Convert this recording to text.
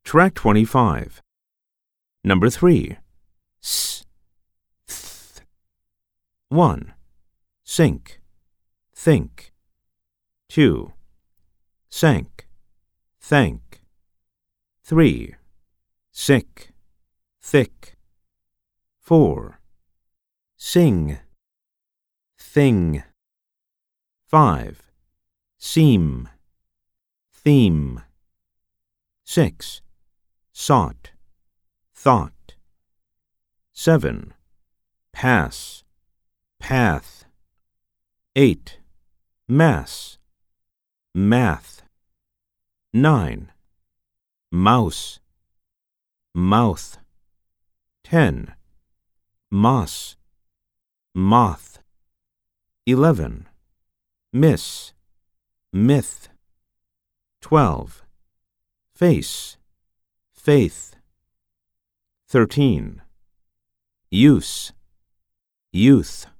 Track 25. Number 3. S, th. 1. Sink, think. 2. Sank, thank. 3. Sick, thick. 4. Sing, thing. 5. Seam, theme. 6. Sought, thought. 7. Pass, path. 8. Mass, math. 9. Mouse, mouth. 10. Moss, moth. 11. Miss, myth. 12. Face, faith. 13. Use, youth.